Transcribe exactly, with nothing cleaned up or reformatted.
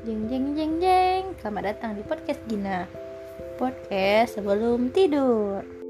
Jeng jeng jeng jeng. Selamat datang di podcast Gina. Podcast sebelum tidur.